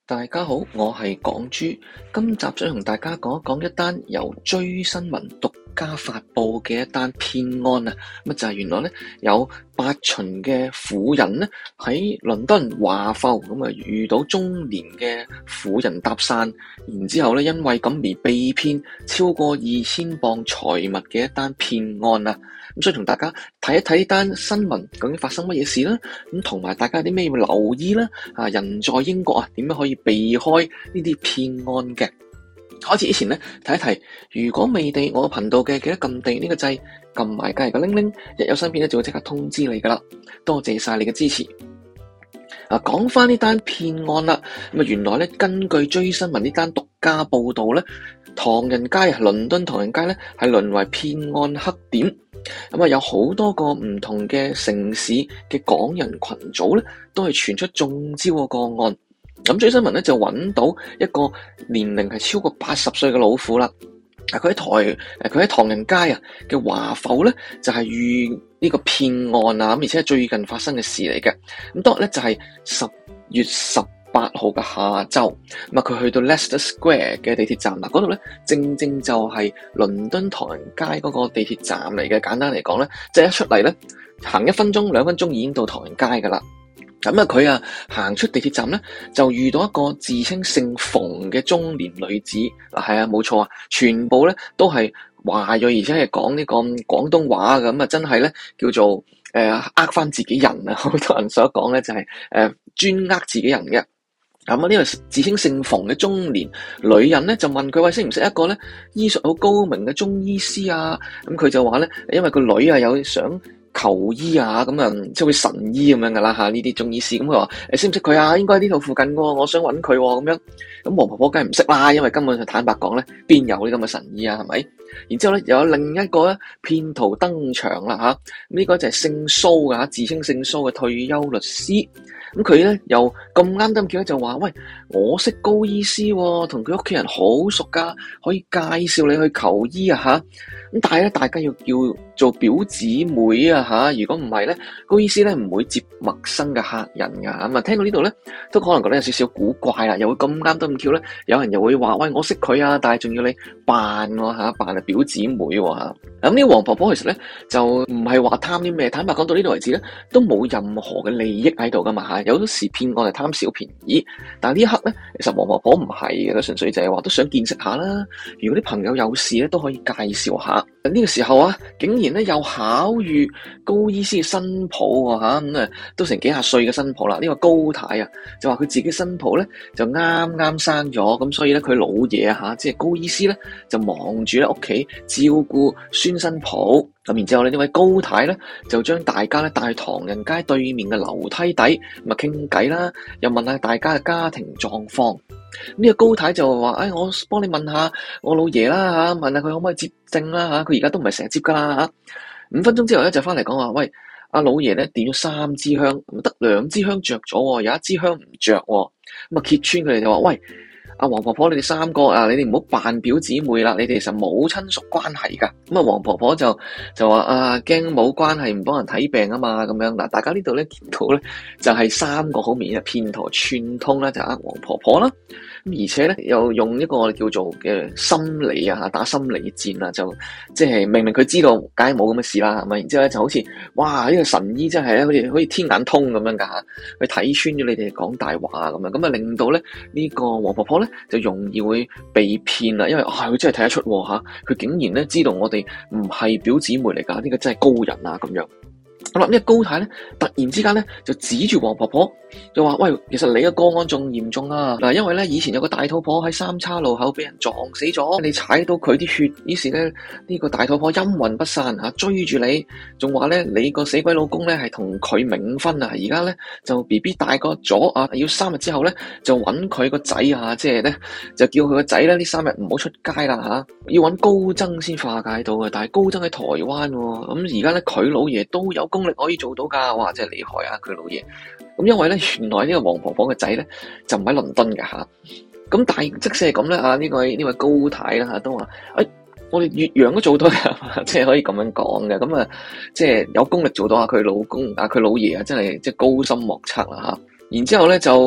大家好，我係港豬，今集想同大家講一講一單由追新聞獨家發佈嘅一單騙案啊！咁就係原來咧有8旬嘅婦人咧喺倫敦華埠咁啊遇到中年嘅婦人搭訕，然之後咧因為咁而被騙超過2000鎊財物嘅一單騙案啊！咁所以同大家睇一睇呢單新聞究竟發生乜嘢事啦，咁同埋大家有啲咩要留意啦？啊，人在英國啊，點樣可以避開呢啲騙案嘅？開始之前咧，提一提，如果未訂我頻道嘅，記得撳訂閱呢個掣，撳埋隔籬個鈴鈴，一有新片咧就會即刻通知你噶啦。多謝晒你嘅支持。講翻呢單騙案啦，咁啊原來咧根據追新聞呢單獨家報道咧，唐人街啊，倫敦唐人街咧係淪為騙案黑點。咁啊，有好多個唔同嘅城市嘅港人群組咧，都係傳出中招嘅個案。咁追新聞咧就揾到一個年齡係超過80歲嘅老婦啦。佢喺唐人街啊嘅華埠咧，就係遇呢個騙案啊，咁而且係最近發生嘅事嚟嘅。咁當日咧就係10月18號嘅下晝，咁啊佢去到 Leicester Square 嘅地鐵站嗱，嗰度咧正正就係倫敦唐人街嗰個地鐵站嚟嘅。簡單嚟講咧，即係一出嚟咧，行1分鐘、2分鐘已經到唐人街噶啦。咁啊佢行出地鐵站咧，就遇到一個自稱姓馮嘅中年女子。係啊，冇錯啊，全部咧都係華裔，而且係講呢個廣東話嘅。咁啊真係咧叫做呃返自己人啊，好多人所講咧就係專呃自己人嘅。咁啊呢個自稱姓馮嘅中年女人咧就問佢，喂，識唔識一個咧醫術好高明嘅中醫師啊？咁佢就話咧，因為個女啊有想求醫啊，咁啊即係會神醫咁樣噶啦吓，呢啲中醫師。咁佢話識唔識佢啊？應該喺呢度附近喎，我想揾佢咁樣。咁黃婆婆梗係唔識啦，因為根本就坦白講咧，邊有呢咁嘅神醫啊？係咪？然之後咧又有另一個咧騙徒登場啦吓，呢個就係姓蘇嘅，自稱姓蘇嘅退休律師。咁佢咧又咁啱得咁巧就話，喂，我識高醫師喎，同佢屋企人好熟噶，可以介紹你去求醫啊吓。咁但係咧，大家要叫做表姊妹啊吓，如果唔係咧，高醫師咧唔會接陌生嘅客人噶。咁啊，聽到呢度咧，都可能覺得有少少古怪啦，又會咁啱得咁巧咧，有人又會話，喂，我識佢啊，但係仲要你扮喎吓，扮係表姊妹喎吓。咁呢個黃婆婆其實咧就唔係話貪啲咩，坦白講到呢度為止咧，都冇任何嘅利益喺度噶嘛吓。有時騙案係貪小便宜，但係呢一刻咧，其實黃婆婆唔係嘅，佢純粹就係話都想見識下啦。如果啲朋友有事咧，都可以介紹下。呢個時候啊，竟然咧又巧遇高醫師嘅新抱喎吓，咁啊都成幾廿歲嘅新抱啦。呢個高太啊，就話佢自己新抱咧就啱啱生咗，咁所以咧佢老爺啊吓，即係高醫師咧就忙住喺屋企照顧孫新抱。咁然之後呢位高太咧就將大家咧帶去唐人街對面嘅樓梯底，咁啊傾偈啦，又問下大家嘅家庭狀況。呢個高太就話，我幫你問下我老爺啦吓，問下佢可唔可以接症啦吓，佢而家都唔係成日接噶啦吓。5分鐘之後咧就翻嚟講話，喂，阿老爺咧點咗3支香，得2支香着咗，有1支香唔着。咁啊揭穿佢哋就話，喂，阿黃婆婆，你哋3個啊，你哋唔好扮表姊妹啦，你哋其實冇親屬關係噶。咁啊，黃婆婆就話驚冇關係唔幫人睇病啊嘛，咁樣嗱，大家呢度咧見到咧就係3個好明顯嘅騙徒串通啦，就呃黃婆婆啦。咁而且咧又用一個我哋叫做嘅心理啊，打心理戰啊，就即係明明佢知道梗係冇咁嘅事啦，係咪？然之後咧就好似哇呢個神醫真係咧好似天眼通咁樣噶吓，去睇穿咗你哋講大話咁樣，咁啊令到咧呢個黃婆婆咧就容易會被騙啦，因為佢真係睇得出吓，佢竟然咧知道我哋唔係表姊妹嚟噶，呢個真係高人啊咁樣。好啦，呢個高太咧突然之間咧就指住黃婆婆就話，喂，其實你嘅個案仲嚴重啊！嗱，因為咧以前有個大肚婆喺三叉路口俾人撞死咗，你踩到佢啲血，於是咧呢個大肚婆陰魂不散吓，追住你，仲話咧你個死鬼老公咧係同佢冥婚啊！而家咧就 BB 大個咗啊，要3日之後咧就揾佢個仔啊，即係咧就叫佢個仔咧呢3日唔好出街啦吓，要揾高僧先化解到嘅，但係高僧喺台灣，咁而家咧佢老爺都有功力可以做到噶，哇，真係厲害啊佢老爺！咁因為咧，原來呢個黃婆婆嘅仔咧就唔喺倫敦嘅吓，咁但係即使係咁咧，呢位高太啦吓都話，我哋越洋都做到嘅，即係可以咁樣講嘅，咁啊，即係有功力做到佢老公佢老爺啊，真係即係高深莫測啦吓。然之後咧就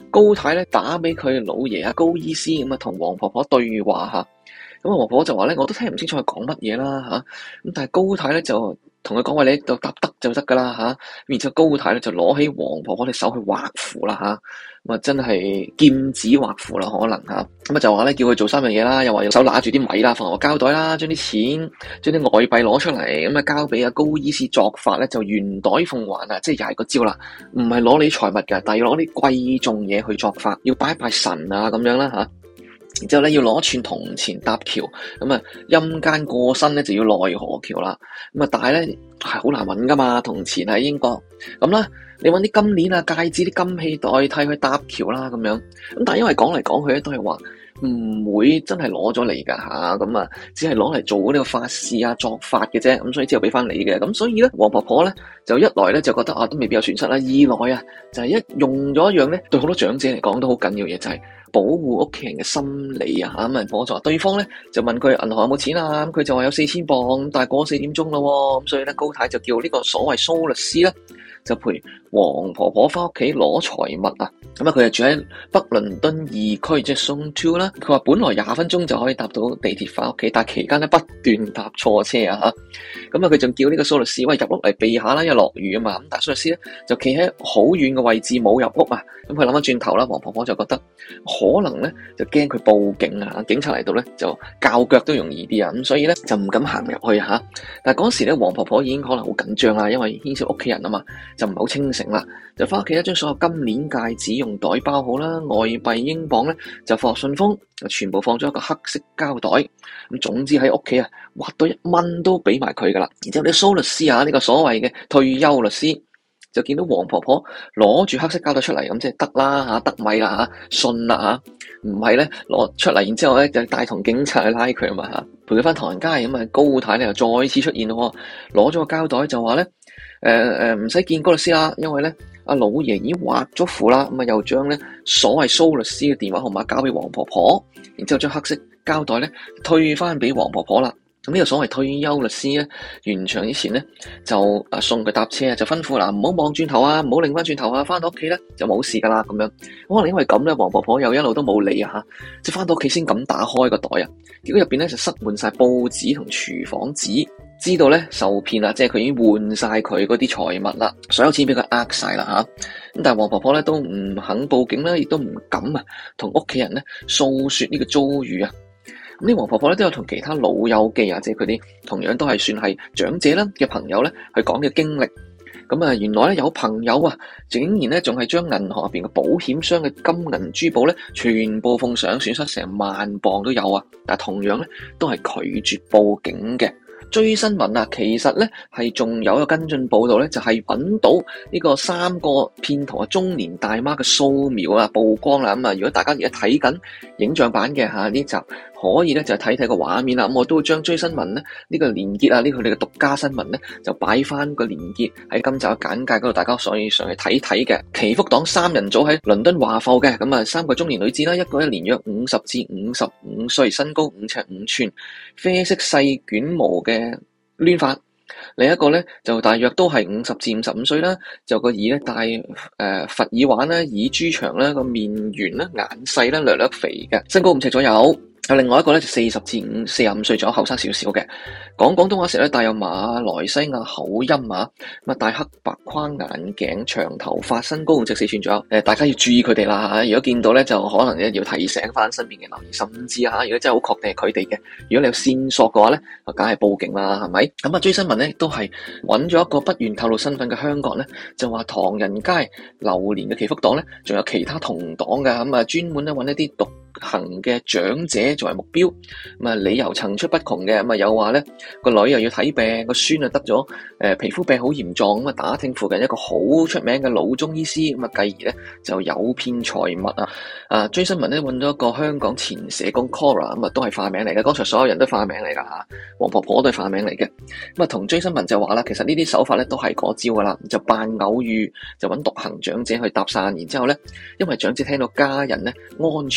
高太咧打俾佢老爺啊高醫師咁啊，同黃婆婆對話吓。咁啊，黃婆婆就話咧，我都聽唔清楚佢講乜嘢啦吓。咁但係高太咧就同佢講話，你就答得就得噶啦吓。然之後高太咧就攞起黃婆婆隻手去畫符啦吓。咁啊，真係劍指畫符啦，可能吓。咁啊就話咧叫佢做3樣嘢啦，又話用手拿住啲米啦，放落膠袋啦，將啲錢、將啲外幣攞出嚟，咁啊交俾阿高醫師作法咧，就圓袋奉還啊，即係又係個招啦，唔係攞你財物㗎，但係要攞啲貴重嘢去作法，要拜拜神啊咁樣啦吓。然之後咧要攞串銅錢搭橋，咁啊陰間過身咧就要奈何橋啦。咁啊但係咧係好難揾噶嘛，銅錢喺英國咁啦，你揾啲金鏈啊、戒指、啲金器代替去搭橋啦咁樣。咁但係因為講嚟講去咧都係話唔會真係攞咗嚟噶吓，咁啊只係攞嚟做呢個法事啊作法嘅啫，咁所以之後俾翻你嘅。咁所以咧黃婆婆咧就一來咧就覺得都未必有損失啦，二來啊就係一用咗一樣咧對好多長者嚟講都好緊要嘅嘢，就係保護屋企人嘅心理啊嚇。咁啊我就話對方咧就問佢銀行有冇錢啊，咁佢就話有4000鎊，但係過4點鐘咯，咁所以咧高太就叫呢個所謂蘇律師咧就陪黃婆婆翻屋企攞財物啊。咁啊佢就住喺北倫敦2區即係 Zone 2啦。佢話本來20分鐘就可以搭到地鐵翻屋企，但係期間咧不斷搭錯車啊嚇。咁啊佢仲叫呢個蘇律師喂，入屋嚟避下啦，因為落雨啊嘛。咁但係蘇律師咧就企喺好遠嘅位置冇入屋啊。咁佢諗翻轉頭啦，黃婆婆就覺得可能咧就驚佢報警啊，警察嚟到咧就較腳都容易啲啊，咁所以咧就唔敢行入去吓。但係嗰時咧黃婆婆已經可能好緊張啦，因為牽涉屋企人啊嘛，就唔係好清醒啦，就翻屋企將所有金鏈戒指用袋包好啦，外幣英鎊咧就放信封，全部放咗一個黑色膠袋。咁總之喺屋企啊，挖到1蚊都俾埋佢噶啦。然之後呢蘇律師啊，呢個所謂嘅退休律師就見到黃婆婆攞住黑色膠袋出嚟，咁即係得啦吓，得米啦吓，信啦吓，唔係咧攞出嚟，然之後咧就帶同警察去拉佢啊嘛吓，陪佢翻唐人街。咁啊高太咧又再次出現咯，攞咗個膠袋就話咧唔使見高律師啦，因為咧阿老爺已經畫咗符啦，咁啊又將咧所謂蘇律師嘅電話號碼交俾黃婆婆，然之後將黑色膠袋咧退翻俾黃婆婆啦。咁呢個所謂退休律師咧，完場之前咧就送佢搭車，就吩咐嗱唔好望轉頭啊，唔好擰翻轉頭啊，翻到屋企咧就冇事噶啦咁樣。可能因為咁咧，黃婆婆又一路都冇理啊吓，即係翻到屋企先敢打開個袋啊，結果入邊咧就塞滿晒報紙同廚房紙，知道咧受騙啦，即係佢已經換晒佢嗰啲財物啦，所有錢俾佢呃晒啦吓。咁但係黃婆婆咧都唔肯報警啦，亦都唔敢啊同屋企人咧訴說呢個遭遇啊。咁呢黃婆婆咧都有同其他老友記啊，即係佢啲同樣都係算係長者啦嘅朋友咧去講嘅經歷。咁啊，原來咧有朋友啊，竟然咧仲係將銀行入邊嘅保險箱嘅金銀珠寶咧全部奉上，損失成1萬鎊都有啊。但係同樣咧都係拒絕報警嘅。追新聞啊，其實咧係仲有一個跟進報道咧，就係揾到呢個3個騙徒啊中年大媽嘅掃描啊曝光啦。咁啊，如果大家而家睇緊影像版嘅呢集，可以咧就睇睇個畫面啦。咁我都會將追新聞咧呢個連結啊，呢個佢哋嘅獨家新聞咧就擺翻個連結喺今集嘅簡介嗰度，大家可以上去睇睇嘅。祈福黨3人組喺倫敦華埠嘅，咁啊3個中年女子啦，一個年約50至55歲，身高5尺5寸，啡色細捲毛嘅亂髮，另一個咧就大約都係50至55歲啦，就個耳咧戴佛耳環啦，耳珠長啦，個面圓啦，眼細啦，略略肥嘅，身高5尺左右。有另外一個咧就40至45歲左右，後生少少嘅，講廣東話時咧帶有馬來西亞口音啊，咁啊戴黑白框眼鏡，長頭髮，身高5尺4寸左右。大家要注意佢哋啦嚇，如果見到咧就可能咧要提醒翻身邊嘅留意，甚至嚇如果真係好確定係佢哋嘅，如果你有線索嘅話咧，就梗係報警啦，係咪？咁啊追新聞咧都係揾咗一個不願透露身份嘅香港人咧，就話唐人街流連嘅祈福黨咧，仲有其他同黨嘅，咁啊專門咧揾一啲獨行嘅長者作為目標，咁啊理由層出不窮嘅，咁啊有話咧個女又要睇病，個孫啊得咗皮膚病好嚴重，咁啊打聽附近一個好出名嘅老中醫師，咁啊繼而咧就誘騙財物啊！追新聞咧揾咗一個香港前社工 Cora， 咁啊都係化名嚟嘅，剛才所有人都化名嚟噶吓，黃婆婆都係化名嚟嘅，咁啊同追新聞就話啦，其實呢啲手法咧都係嗰招噶啦，就扮偶遇，就揾獨行長者去搭訕，然之後咧因為長者聽到家人咧安全有危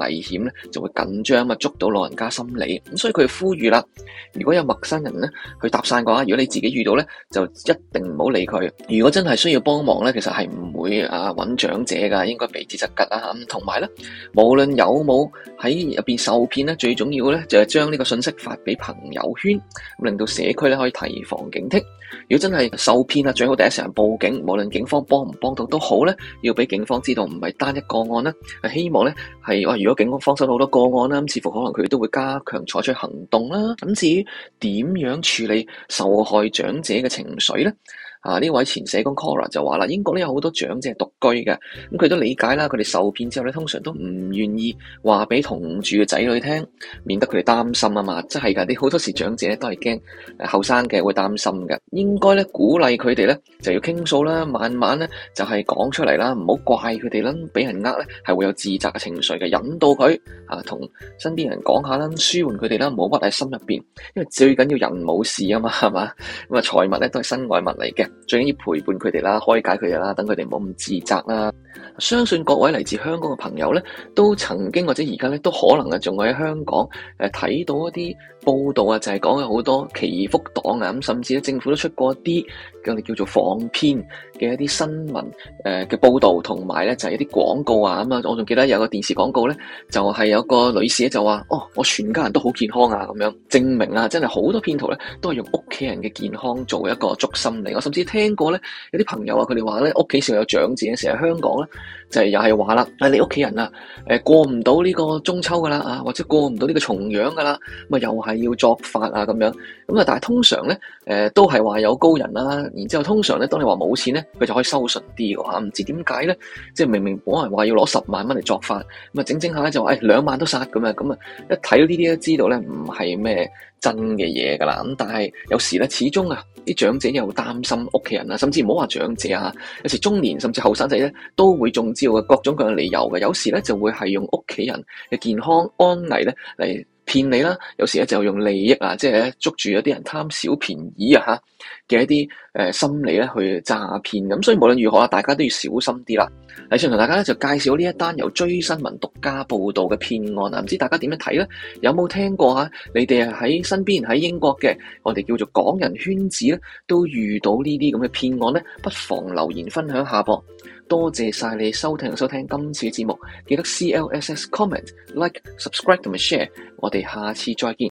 危險咧，就會緊張啊，捉到老人家心理。咁所以佢呼籲啦，如果有陌生人咧去搭訕嘅話，如果你自己遇到咧，就一定唔好理佢。如果真係需要幫忙咧，其實係唔會揾長者㗎，應該避之則吉啦嚇。同埋咧，無論有冇喺入邊受騙咧，最重要咧就係將呢個信息發俾朋友圈，咁令到社區咧可以提防警惕。如果真係受騙啊，最好第一時間報警，無論警方幫唔幫到都好咧，要俾警方知道唔係單一個案啦。希望咧係話，如果警方收到好多個案啦，咁似乎可能佢哋都會加強採取行動啦。咁至於點樣處理受害長者嘅情緒咧？呢位前社工 Cora 就話啦，英國咧有好多長者係獨居嘅，咁佢都理解啦，佢哋受騙之後咧，通常都唔願意話俾同住嘅仔女聽，免得佢哋擔心啊嘛，真係㗎，啲好多時長者咧都係驚後生嘅會擔心嘅，應該咧鼓勵佢哋咧就要傾訴啦，慢慢咧就係講出嚟啦，唔好怪佢哋啦，俾人咧係會有自責嘅情緒嘅，引導佢同身邊人講下啦，舒緩佢哋啦，唔好屈喺心入邊，因為最緊要人冇事啊嘛，係嘛，咁財物咧都係身外物嚟嘅。最緊要陪伴佢哋啦，開解佢哋啦，等佢哋唔好咁自責啦。相信各位嚟自香港嘅朋友咧，都曾經或者而家咧都可能仲會喺香港睇到一啲報道啊，就係講有好多祈福黨啊，咁甚至咧政府都出過一啲我哋叫做防騙嘅一啲新聞嘅報道，同埋咧就係一啲廣告啊咁啊。我仲記得有個電視廣告咧，就係有個女士咧就話：我全家人都好健康啊，咁樣證明啊，真係好多騙徒咧都係用屋企人嘅健康做一個築心理。我甚至聽過咧有啲朋友啊，佢哋話咧屋企成日有長者，成日香港咧就係又係話啦，你屋企人啊過唔到呢個中秋噶啦或者過唔到呢個重陽噶啦，咁啊又係要作法啊咁樣，咁啊但係通常咧都係話有高人啦，然之後通常咧當你話冇錢咧，佢就可以收順啲嘅嚇，唔知點解咧，即係明明本來話要攞10萬蚊嚟作法，咁啊整下咧就話2萬都殺咁啊，咁啊一睇到呢啲都知道咧唔係咩真嘅嘢噶啦，咁但係有時咧始終啲長者又擔心屋企人啊，甚至唔好話長者有時中年甚至後生仔咧都會中招嘅，各種各樣理由嘅，有時咧就會係用屋企人嘅健康安危咧嚟騙你啦，有時咧就用利益即係捉住一啲人貪小便宜嘅一啲心理咧去詐騙，咁所以無論如何大家都要小心啲啦。嚟上同大家咧就介紹呢一單由追新聞獨家報道嘅騙案啊，唔知大家點樣睇咧？有冇聽過你哋喺身邊喺英國嘅我哋叫做港人圈子咧，都遇到呢啲咁嘅騙案咧？不妨留言分享下噃。多謝晒你收聽今次嘅節目，記得 CLSS comment like subscribe 同埋 share，我哋下次再見。